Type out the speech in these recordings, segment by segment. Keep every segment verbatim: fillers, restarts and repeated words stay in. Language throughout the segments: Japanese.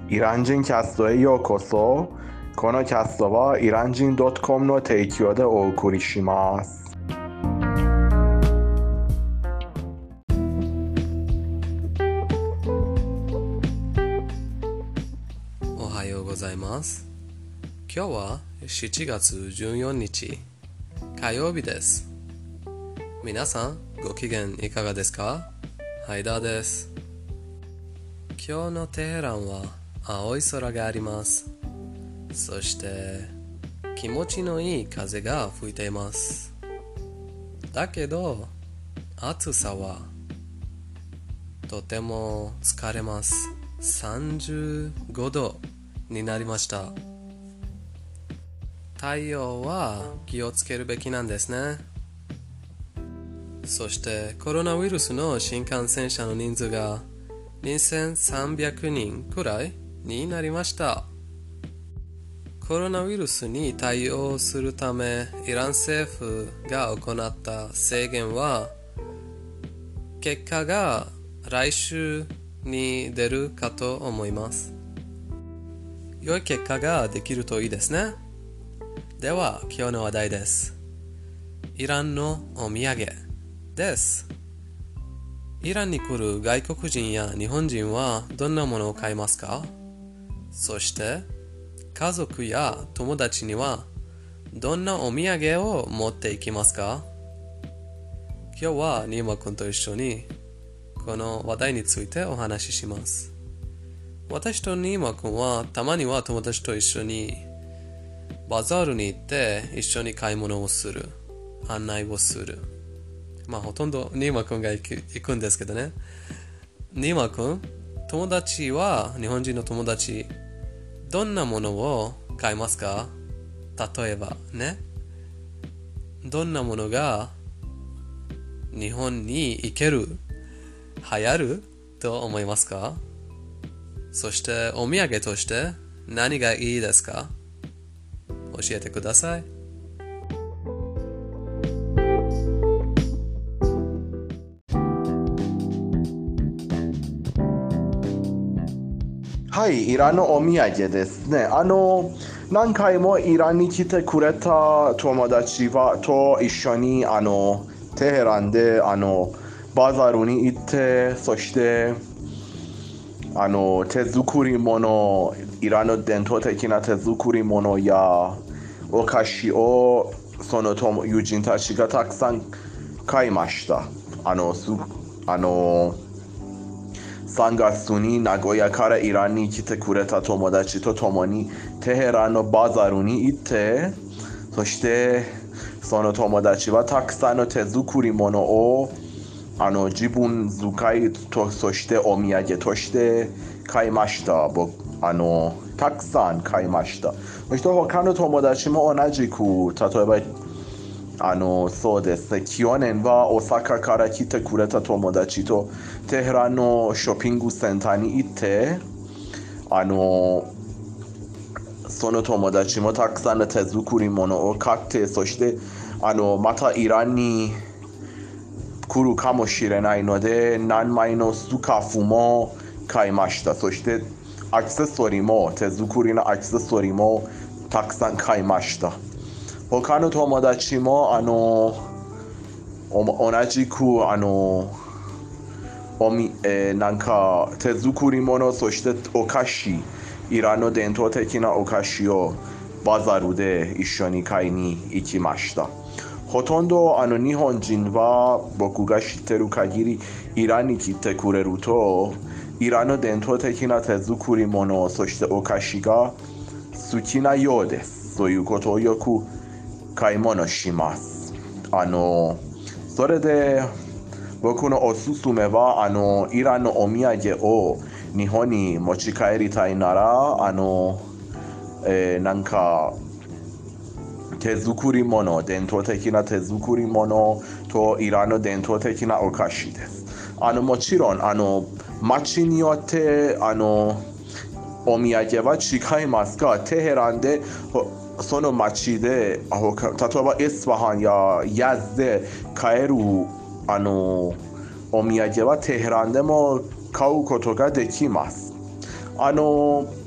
イラン人キャストへようこそ。このキャストはイラン人 .com の提供でお送りします。 おはようございます。今日はしちがつじゅうよっか火曜日です。皆さんご機嫌いかがですか？ハイダーです。今日のテヘランは青い空があります。そして気持ちのいい風が吹いています。だけど暑さはとても疲れます。さんじゅうごどになりました。太陽は気をつけるべきなんですね。そしてコロナウイルスの新感染者の人数がにせんさんびゃくにんくらいになりました。コロナウイルスに対応するためイラン政府が行った制限は結果が来週に出るかと思います。良い結果ができるといいですね。では今日の話題です。イランのお土産です。イランに来る外国人や日本人はどんなものを買いますか？そして家族や友達にはどんなお土産を持っていきますか？今日はニーマ君と一緒にこの話題についてお話しします。私とニーマ君はたまには友達と一緒にバザールに行って一緒に買い物をする、案内をする。まあほとんどニーマ君が行く、行くんですけどね。ニーマ君、友達は日本人の友達どんなものを買いますか？例えばね、どんなものが日本に行ける、流行ると思いますか？そしてお土産として何がいいですか？教えてください。 はい、イランのお土産ですね。あの何回もイランに来てくれた友達はと一緒にあのテヘランであのバザールに行って、そしてあの手作り物、イランの伝統的な手作り物やお菓子をその友人たちがたくさん買いました。あのすあのさんがつに名古屋からイランに来てくれた友達と共にテヘランのバザールに行って、そしてその友達はたくさんの手作り物をあの自分使いと、そしてお土産として買いました。僕あのたくさん買いました。そして他の友達も同じく、例えばあのそうですね、去年は大阪から来てくれた友達とテヘランのショッピングセンターに行って、あのその友達もたくさんの手作り物を買って、そしてあのまたイランに来るかもしれないので何枚のスカーフも買いました。そしてアクセサリーも、手作りのアクセサリーもたくさん買いました。他の友達もあの同じくあのおみ、えー、なんか手作り物、そしてお菓子、イランの伝統的なお菓子をバザールで一緒に買いに行きました。ほとんどあの日本人は僕が知ってる限りイランに来てくれるとイランの伝統的な手作り物、そしてお菓子が好きなようです。そういうことをよく買い物します。あのそれで僕のおすすめはあのイランのお土産を日本に持ち帰りたいならあの、えー、なんか手作り物、伝統的な手作り物とイランの伝統的なお菓子です。あのもちろんあの街によってあのお土産は違いますが、テヘランでその街で例えばエスファハンやヤズで買えるあのお土産はテヘランでも買うことができます。あの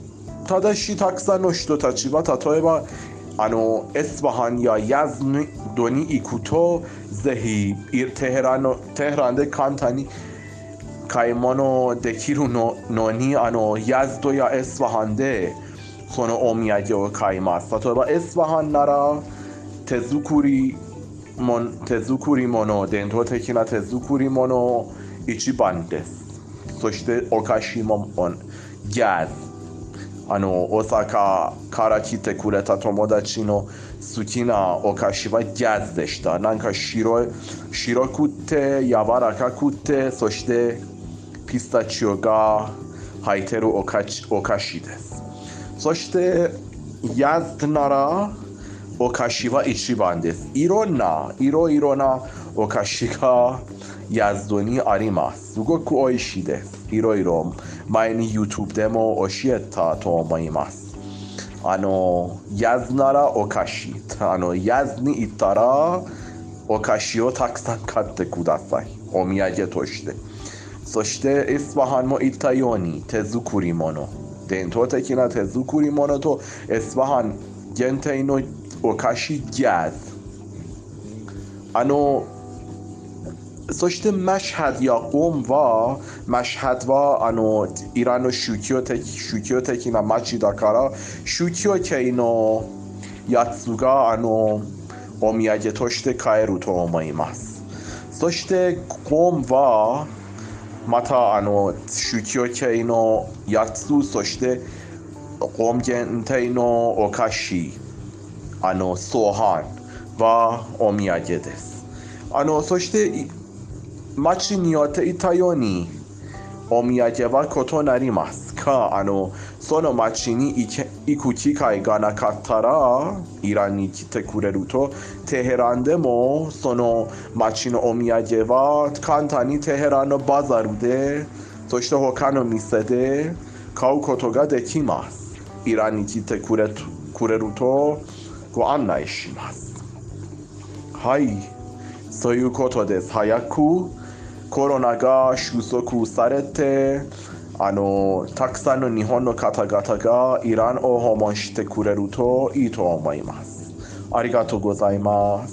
ただしたくさんの人たちは例えばあのエスファハンやヤズドに行くとぜひテヘランのテヘランで簡単に買い物できるのにあのヤズドやエスファハンでそのお土産を買います。例えばエスファハンなら手作りも手作り物伝統的な手作り物一番です。そしてお菓子もギャズあの大阪から来てくれた友達の好きなお菓子はギャズでした。なんか白い白くて柔らかくてそしてピスタチオが入ってるお菓子、お菓子です。そしてヤズならお菓子は一番です。いろんないろいろなお菓子がヤズドにあります。すごく美味しいです。いろいろ前に YouTube でも教えたと思います。あのヤズならお菓子あのヤズに行ったらお菓子をたくさん買ってください。お土産として。そしてエスファハンも言ったように手作り物伝統的な手作り物とエスファハン限定のお菓子ギャズあのそしてマシハドやコムはマシハドはあのイランの宗教的宗教的な町だから宗教系のやつがあのお土産として買えると思います。そしてコムはまたあの宗教系のやつそしてコム限定のお菓子あのソーハンはお土産です。あのそして町によっていたようにお土産は異なりますがあのその町に行く機会がなかったらイランに来てくれるとテヘランでもその町のお土産は簡単にテヘランのバザールでそして他の店で買うことができます。イランに来てくれくれるとご案内します。はい、そういうことです。早くコロナが収束されて、あのたくさんの日本の方々がイランを訪問してくれるといいと思います。ありがとうございます。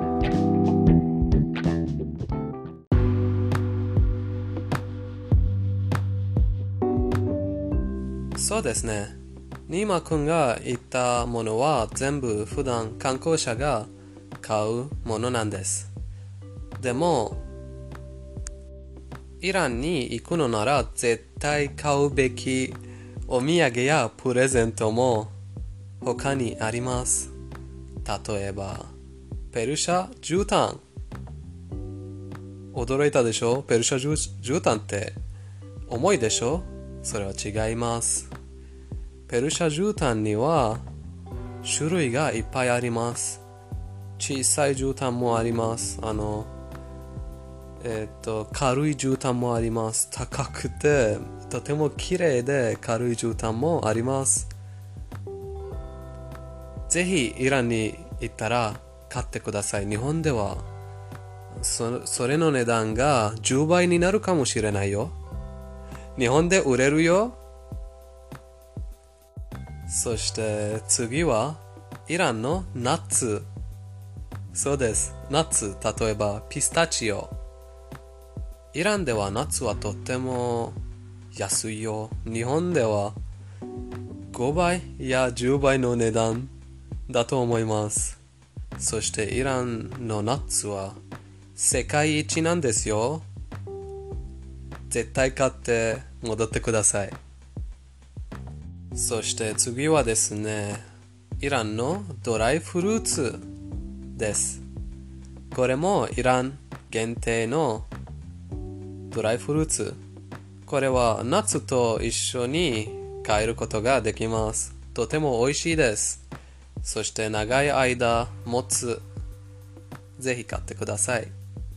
そうですね。ニーマ君が言ったものは全部普段観光者が買うものなんです。でも、イランに行くのなら絶対買うべきお土産やプレゼントも他にあります。例えば、ペルシャ絨毯。驚いたでしょ？ペルシャ絨毯って重いでしょ？それは違います。ペルシャ絨毯には種類がいっぱいあります。小さい絨毯もあります。あの、えっと、軽い絨毯もあります。高くて、とても綺麗で軽い絨毯もあります。ぜひイランに行ったら買ってください。日本ではそ、それの値段がじゅうばいになるかもしれないよ。日本で売れるよ。そして次はイランのナッツ。そうです。ナッツ、例えばピスタチオ。イランではナッツはとっても安いよ。日本ではごばいやじゅうばいの値段だと思います。そしてイランのナッツは世界一なんですよ。絶対買って戻ってください。そして次はですね、イランのドライフルーツです。これもイラン限定のドライフルーツ。これはナッツと一緒に買えることができます。とても美味しいです。そして長い間持つ。ぜひ買ってください。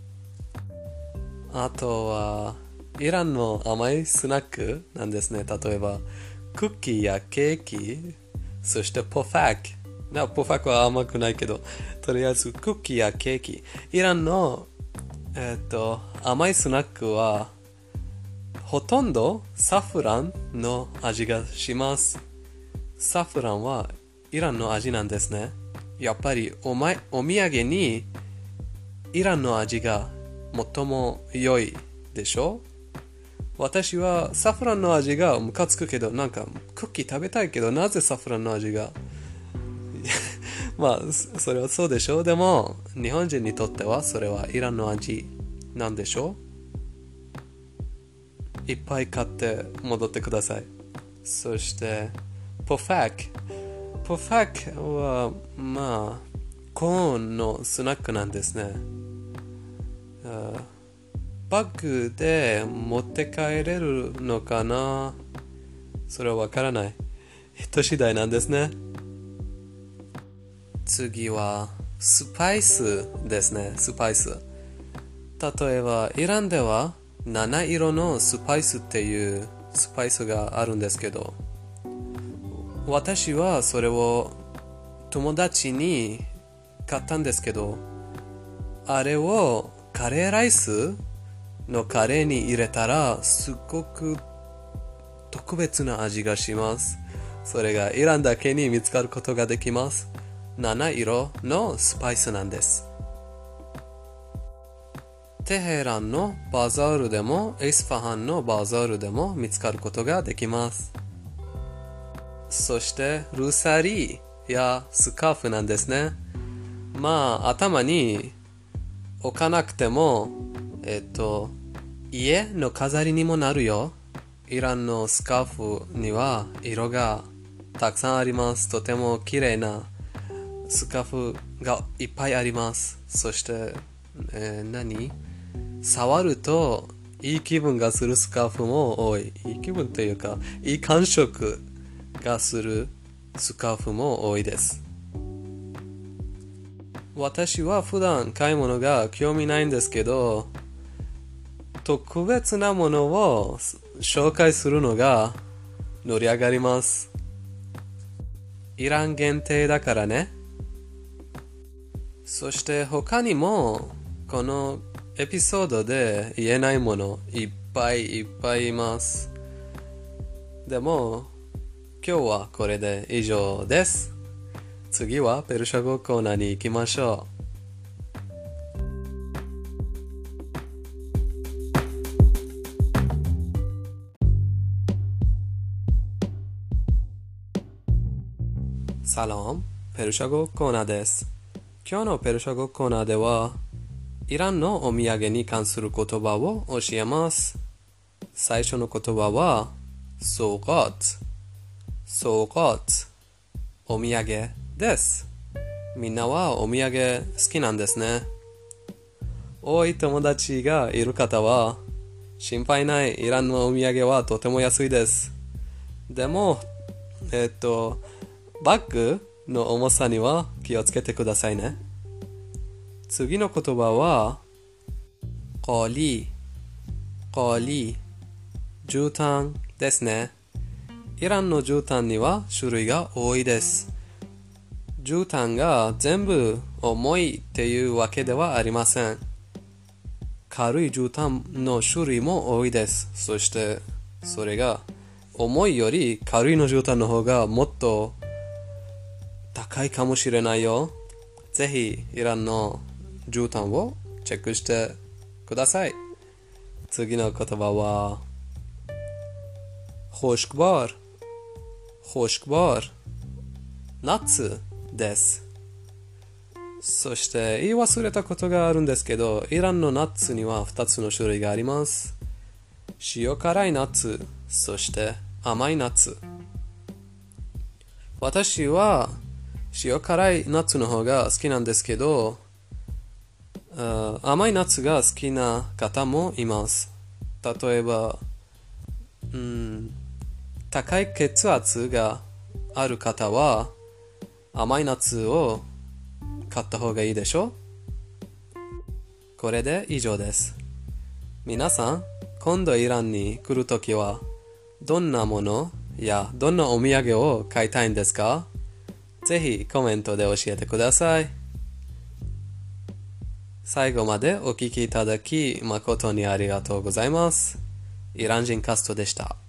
あとはイランの甘いスナックなんですね。例えばクッキーやケーキ、そしてポファック。なポファックは甘くないけど、とりあえずクッキーやケーキ。イランの、えー、っと甘いスナックはほとんどサフランの味がします。 サフランはイランの味なんですね。やっぱりおまお土産にイランの味が最も良いでしょ。私はサフランの味がムカつくけど、なんかクッキー食べたいけど、なぜサフランの味がまあそれはそうでしょう。でも日本人にとってはそれはイランの味なんでしょう。いっぱい買って戻ってください。そしてポファックポファックはまあコーンのスナックなんですね。バッグで持って帰れるのかな、それはわからない。人次第なんですね。次はスパイスですね。スパイス。例えばイランでは七色のスパイスっていうスパイスがあるんですけど、私はそれを友達に買ったんですけど、あれをカレーライスのカレーに入れたらすごく特別な味がします。それがイランだけに見つかることができます。七色のスパイスなんです。テヘランのバザールでもエスファハンのバザールでも見つかることができます。そしてルサリーやスカーフなんですね。まあ頭に置かなくてもえっと家の飾りにもなるよ。イランのスカーフには色がたくさんあります。とても綺麗なスカーフがいっぱいあります。そして、えー、何触るといい気分がするスカーフも多い。いい気分というかいい感触がするスカーフも多いです。私は普段買い物が興味ないんですけど、特別なものを紹介するのが盛り上がります。イラン限定だからね。そして他にもこのエピソードで言えないものいっぱいいっぱいいます。でも今日はこれで以上です。次はペルシャ語コーナーに行きましょう。サロン、ペルシャ語コーナーです。今日のペルシャ語コーナーではイランのお土産に関する言葉を教えます。最初の言葉はソーガット。ソーガット。お土産です。みんなはお土産好きなんですね。多い友達がいる方は心配ない。イランのお土産はとても安いです。でもえっとバッグの重さには気をつけてくださいね。次の言葉はコリコリ絨毯ですね。イランの絨毯には種類が多いです。絨毯が全部重いっていうわけではありません。軽い絨毯の種類も多いです。そしてそれが重いより軽いの絨毯の方がもっと高いかもしれないよ。ぜひイランの絨毯をチェックしてください。次の言葉はホシクバール。ホシクバール。夏です。そして言い忘れたことがあるんですけど、イランのナッツにはふたつの種類があります。塩辛いナッツ、そして甘いナッツ。私は塩辛いナッツの方が好きなんですけど、甘いナッツが好きな方もいます。例えば、うん、高い血圧がある方は甘いナッツを買った方がいいでしょ。これで以上です。皆さん、今度イランに来るときはどんなものやどんなお土産を買いたいんですか？ぜひコメントで教えてください。最後までお聞きいただき誠にありがとうございます。イラン人カストでした。